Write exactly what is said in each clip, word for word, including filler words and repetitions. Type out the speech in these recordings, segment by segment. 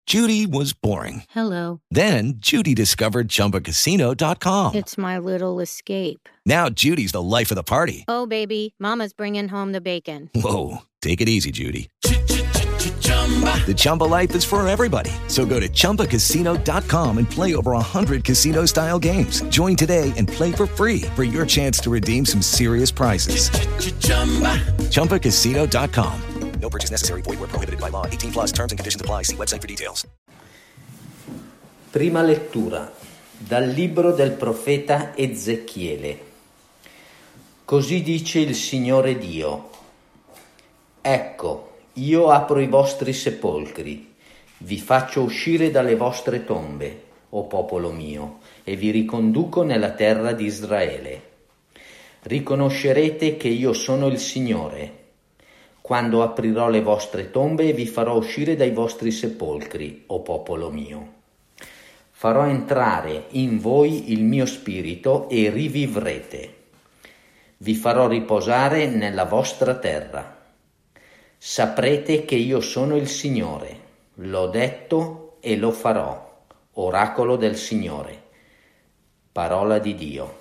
Judy was boring. Hello. Then Judy discovered Chumba Casino dot com. It's my little escape. Now Judy's the life of the party. Oh, baby, mama's bringing home the bacon. Whoa, take it easy, Judy. The Chumba life is for everybody. So go to Chumba Casino dot com and play over one hundred casino-style games. Join today and play for free for your chance to redeem some serious prizes. Chumba Casino dot com. No purchase necessary. Void where prohibited by law. eighteen plus terms and conditions apply. See website for details. Prima lettura dal libro del profeta Ezechiele. Così dice il Signore Dio: Ecco, io apro i vostri sepolcri, vi faccio uscire dalle vostre tombe, o popolo mio, e vi riconduco nella terra di Israele. Riconoscerete che io sono il Signore, quando aprirò le vostre tombe e vi farò uscire dai vostri sepolcri, o popolo mio. Farò entrare in voi il mio spirito e rivivrete. Vi farò riposare nella vostra terra. Saprete che io sono il Signore, l'ho detto e lo farò, oracolo del Signore, parola di Dio.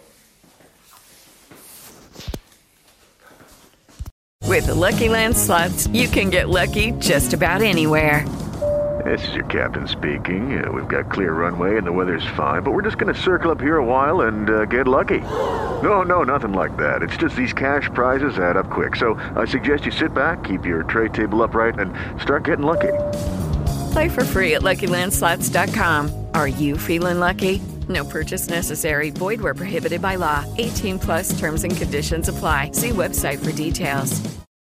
With the Lucky Land Slots, you can get lucky just about anywhere. This is your captain speaking. Uh, we've got clear runway and the weather's fine, but we're just going to circle up here a while and uh, get lucky. No, no, nothing like that. It's just these cash prizes add up quick. So I suggest you sit back, keep your tray table upright, and start getting lucky. Play for free at Lucky Land Slots dot com. Are you feeling lucky? No purchase necessary. Void where prohibited by law. eighteen plus terms and conditions apply. See website for details.